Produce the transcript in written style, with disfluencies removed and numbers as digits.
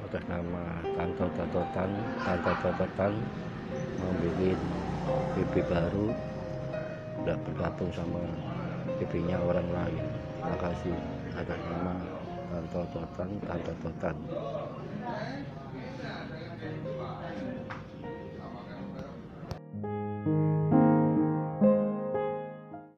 atas nama Tante Tototan. Tante Tototan membuat BB baru, tidak bergabung sama BB-nya orang lain. Terima kasih atas nama Tante Tototan.